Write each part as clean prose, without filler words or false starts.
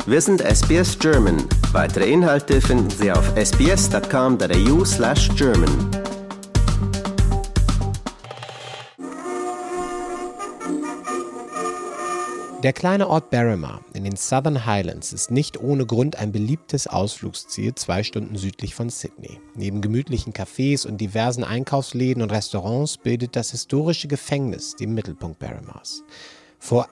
Wir sind SBS German. Weitere Inhalte finden Sie auf sbs.com.au/German. Der kleine Ort Berrima in den Southern Highlands ist nicht ohne Grund ein beliebtes Ausflugsziel 2 Stunden südlich von Sydney. Neben gemütlichen Cafés und diversen Einkaufsläden und Restaurants bildet das historische Gefängnis den Mittelpunkt Berrimas. Vor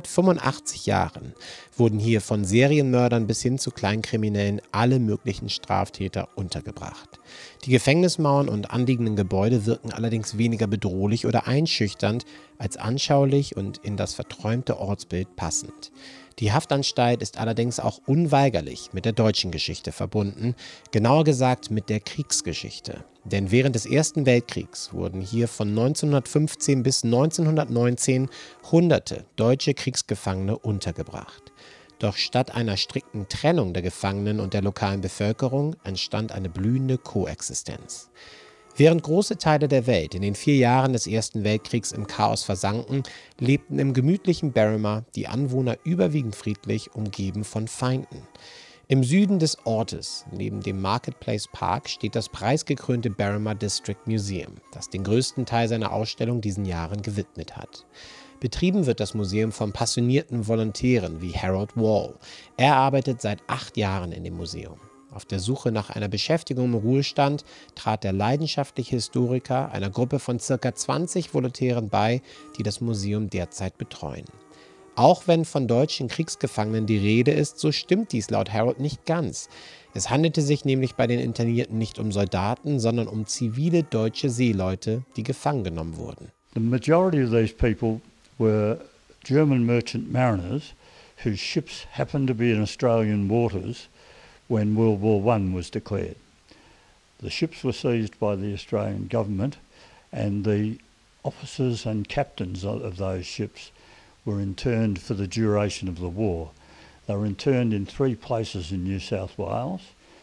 185 Jahren wurden hier von Serienmördern bis hin zu Kleinkriminellen alle möglichen Straftäter untergebracht. Die Gefängnismauern und anliegenden Gebäude wirken allerdings weniger bedrohlich oder einschüchternd als anschaulich und in das verträumte Ortsbild passend. Die Haftanstalt ist allerdings auch unweigerlich mit der deutschen Geschichte verbunden, genauer gesagt mit der Kriegsgeschichte. Denn während des Ersten Weltkriegs wurden hier von 1915 bis 1919 Hunderte deutsche Kriegsgefangene untergebracht. Doch statt einer strikten Trennung der Gefangenen und der lokalen Bevölkerung entstand eine blühende Koexistenz. Während große Teile der Welt in den 4 Jahren des Ersten Weltkriegs im Chaos versanken, lebten im gemütlichen Berrima die Anwohner überwiegend friedlich, umgeben von Feinden. Im Süden des Ortes, neben dem Marketplace Park, steht das preisgekrönte Berrima District Museum, das den größten Teil seiner Ausstellung diesen Jahren gewidmet hat. Betrieben wird das Museum von passionierten Volontären wie Harold Wall. Er arbeitet seit 8 Jahren in dem Museum. Auf der Suche nach einer Beschäftigung im Ruhestand trat der leidenschaftliche Historiker einer Gruppe von ca. 20 Volontären bei, die das Museum derzeit betreuen. Auch wenn von deutschen Kriegsgefangenen die Rede ist, so stimmt dies laut Harold nicht ganz. Es handelte sich nämlich bei den Internierten nicht um Soldaten, sondern um zivile deutsche Seeleute, die gefangen genommen wurden. The majority of these people were German merchant mariners whose ships happened to be in Australian waters when World War I was declared. The ships were seized by the Australian government and the officers and captains of those ships were interned for the duration of the war. They were interned in 3 places in New South Wales,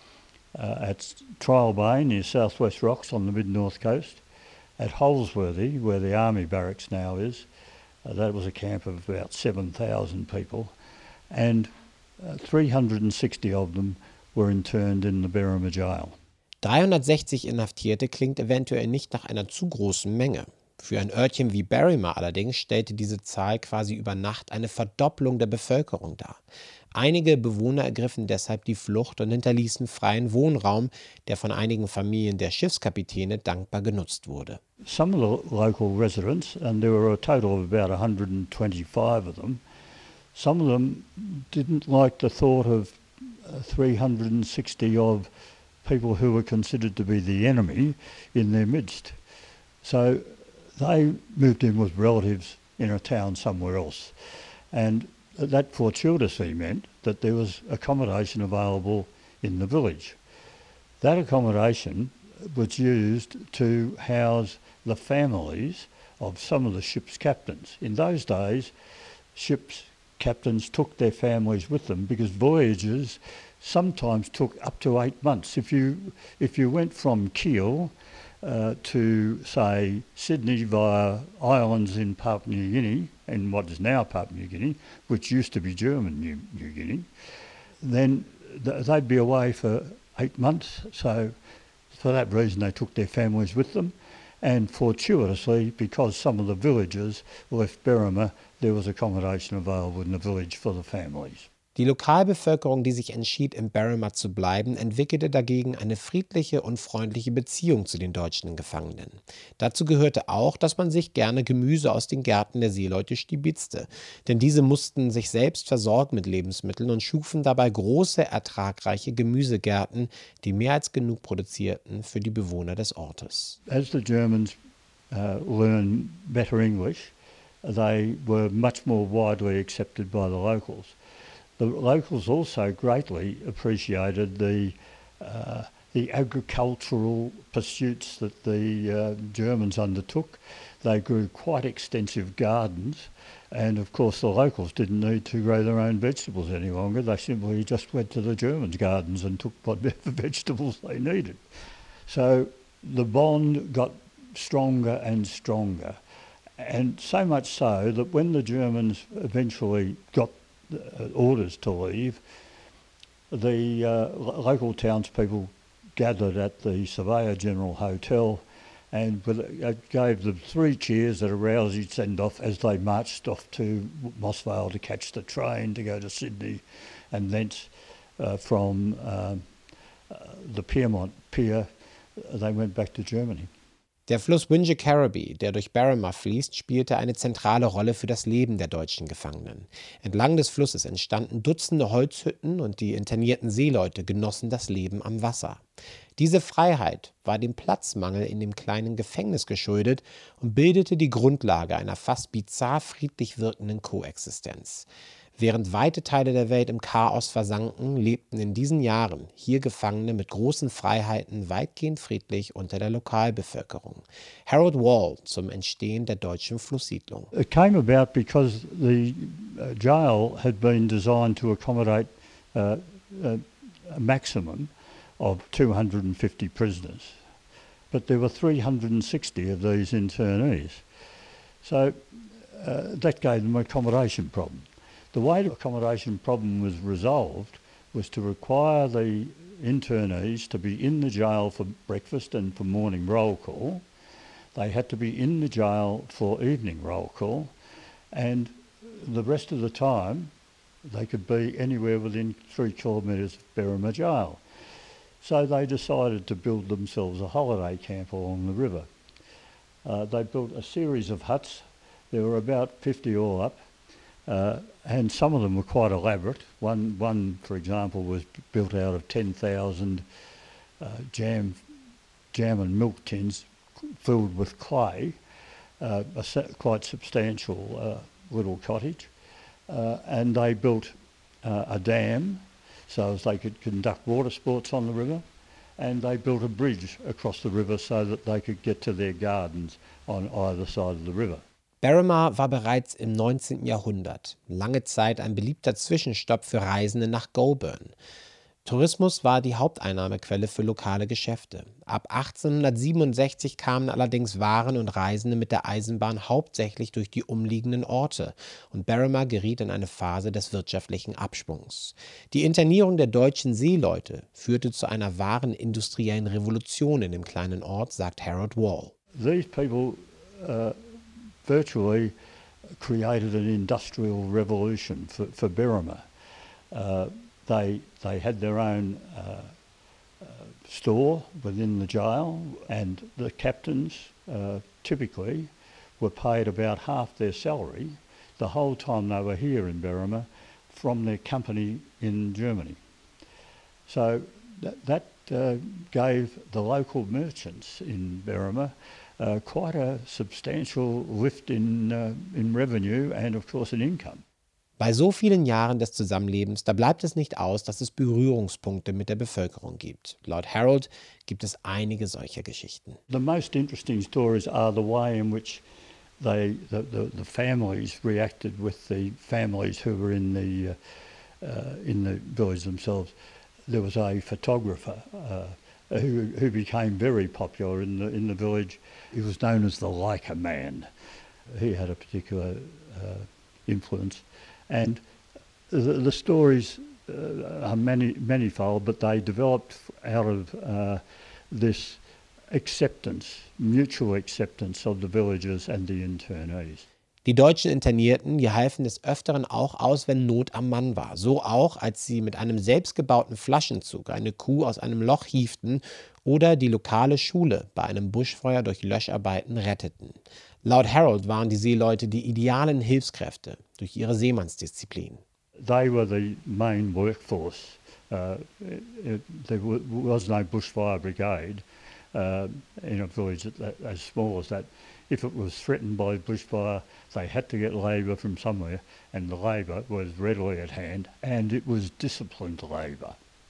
at Trial Bay near South West Rocks on the mid-north coast, at Holsworthy, where the army barracks now is. That was a camp of about 7,000 people, and 360 of them were interned in the Berrima Jail. 360 Inhaftierte klingt eventuell nicht nach einer zu großen Menge. Für ein Örtchen wie Berrima allerdings stellte diese Zahl quasi über Nacht eine Verdopplung der Bevölkerung dar. Einige Bewohner ergriffen deshalb die Flucht und hinterließen freien Wohnraum, der von einigen Familien der Schiffskapitäne dankbar genutzt wurde. Some of the local residents, and there were a total of about 125 of them, some of them didn't like the thought of 360 of people who were considered to be the enemy in their midst. So they moved in with relatives in a town somewhere else. And that fortuitously meant that there was accommodation available in the village. That accommodation was used to house the families of some of the ship's captains. In those days, ship's captains took their families with them because voyages sometimes took up to 8 months. If you went from Kiel to, say, Sydney via islands in Papua New Guinea, in what is now Papua New Guinea, which used to be German New Guinea, then they'd be away for 8 months. So for that reason they took their families with them. And fortuitously, because some of the villagers left Berrima, there was accommodation available in the village for the families. Die Lokalbevölkerung, die sich entschied, in Berrima zu bleiben, entwickelte dagegen eine friedliche und freundliche Beziehung zu den deutschen Gefangenen. Dazu gehörte auch, dass man sich gerne Gemüse aus den Gärten der Seeleute stibitzte, denn diese mussten sich selbst versorgen mit Lebensmitteln und schufen dabei große, ertragreiche Gemüsegärten, die mehr als genug produzierten für die Bewohner des Ortes. As the Germans learned better English, they were much more widely accepted by the locals. The locals also greatly appreciated the agricultural pursuits that the Germans undertook. They grew quite extensive gardens, and of course the locals didn't need to grow their own vegetables any longer. They simply just went to the Germans' gardens and took whatever vegetables they needed. So the bond got stronger and stronger, and so much so that when the Germans eventually got orders to leave, the local townspeople gathered at the Surveyor General Hotel and gave them 3 cheers at a rousing send-off as they marched off to Mossvale to catch the train to go to Sydney, and thence from the Pyrmont Pier they went back to Germany. Der Fluss Wingecarribee, der durch Berrima fließt, spielte eine zentrale Rolle für das Leben der deutschen Gefangenen. Entlang des Flusses entstanden Dutzende Holzhütten und die internierten Seeleute genossen das Leben am Wasser. Diese Freiheit war dem Platzmangel in dem kleinen Gefängnis geschuldet und bildete die Grundlage einer fast bizarr friedlich wirkenden Koexistenz. Während weite Teile der Welt im Chaos versanken, lebten in diesen Jahren hier Gefangene mit großen Freiheiten weitgehend friedlich unter der Lokalbevölkerung. Harold Wall zum Entstehen der deutschen Flusssiedlung. It came about because the jail had been designed to accommodate a maximum of 250 prisoners, but there were 360 of these internees. So that gave them an accommodation problem. The way the accommodation problem was resolved was to require the internees to be in the jail for breakfast and for morning roll call. They had to be in the jail for evening roll call, and the rest of the time they could be anywhere within 3 kilometres of Berrima Jail. So they decided to build themselves a holiday camp along the river. They built a series of huts. There were about 50 all up. And some of them were quite elaborate. One, for example, was built out of 10,000 jam and milk tins filled with clay, quite substantial little cottage. And they built a dam so as they could conduct water sports on the river, and they built a bridge across the river so that they could get to their gardens on either side of the river. Berrima war bereits im 19. Jahrhundert lange Zeit ein beliebter Zwischenstopp für Reisende nach Goulburn. Tourismus war die Haupteinnahmequelle für lokale Geschäfte. Ab 1867 kamen allerdings Waren und Reisende mit der Eisenbahn hauptsächlich durch die umliegenden Orte und Berrima geriet in eine Phase des wirtschaftlichen Abschwungs. Die Internierung der deutschen Seeleute führte zu einer wahren industriellen Revolution in dem kleinen Ort, sagt Harold Wall. These people virtually created an industrial revolution for Berrima. They had their own store within the jail, and the captains typically were paid about half their salary the whole time they were here in Berrima from their company in Germany. So that gave the local merchants in Berrima quite a substantial lift in revenue and of course in income. Bei so vielen Jahren des Zusammenlebens, da bleibt es nicht aus, dass es Berührungspunkte mit der Bevölkerung gibt. Laut Harold gibt es einige solcher Geschichten. The most interesting stories are the way in which the families reacted with the families who were in the village themselves. There was a photographer who became very popular in the village. He was known as the Leica Man. He had a particular influence. And the stories are manifold, but they developed out of this acceptance, mutual acceptance of the villagers and the internees. Die deutschen Internierten, die halfen des Öfteren auch aus, wenn Not am Mann war. So auch, als sie mit einem selbstgebauten Flaschenzug eine Kuh aus einem Loch hieften oder die lokale Schule bei einem Buschfeuer durch Löscharbeiten retteten. Laut Harold waren die Seeleute die idealen Hilfskräfte durch ihre Seemannsdisziplin. They were the main workforce. There was no bushfire brigade in a village as small as that. If it was threatened by bushfire, they had to get labour from somewhere, and the labour was readily at hand, and it was disciplined labour.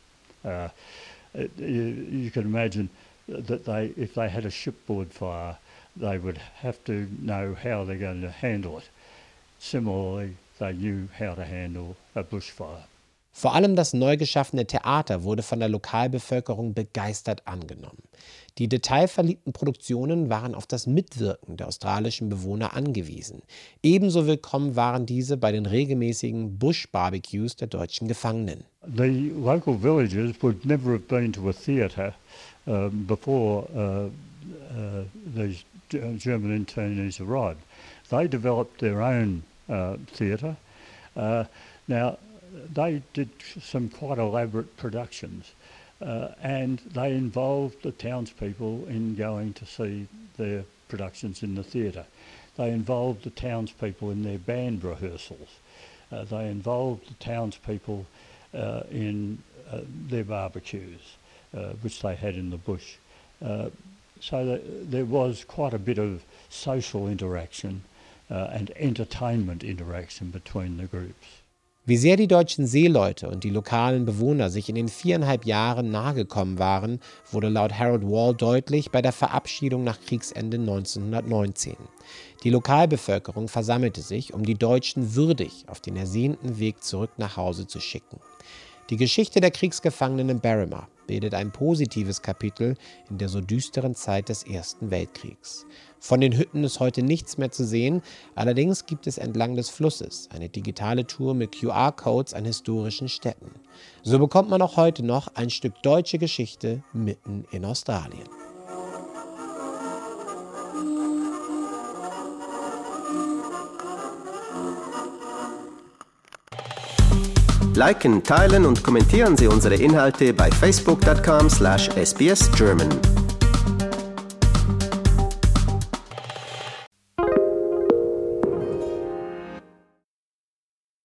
You can imagine that if they had a shipboard fire, they would have to know how they're going to handle it. Similarly, they knew how to handle a bushfire. Vor allem das neu geschaffene Theater wurde von der Lokalbevölkerung begeistert angenommen. Die detailverliebten Produktionen waren auf das Mitwirken der australischen Bewohner angewiesen. Ebenso willkommen waren diese bei den regelmäßigen Bush-Barbecues der deutschen Gefangenen. The local villagers would never have been to a theatre before these German internees arrived. They developed their own theatre. Now, they did some quite elaborate productions, and they involved the townspeople in going to see their productions in the theatre. They involved the townspeople in their band rehearsals. They involved the townspeople in their barbecues, which they had in the bush. So there was quite a bit of social interaction and entertainment interaction between the groups. Wie sehr die deutschen Seeleute und die lokalen Bewohner sich in den 4,5 Jahren nahegekommen waren, wurde laut Harold Wall deutlich bei der Verabschiedung nach Kriegsende 1919. Die Lokalbevölkerung versammelte sich, um die Deutschen würdig auf den ersehnten Weg zurück nach Hause zu schicken. Die Geschichte der Kriegsgefangenen in Berrima bildet ein positives Kapitel in der so düsteren Zeit des Ersten Weltkriegs. Von den Hütten ist heute nichts mehr zu sehen, allerdings gibt es entlang des Flusses eine digitale Tour mit QR-Codes an historischen Städten. So bekommt man auch heute noch ein Stück deutsche Geschichte mitten in Australien. Liken, teilen und kommentieren Sie unsere Inhalte bei facebook.com/sbsgerman.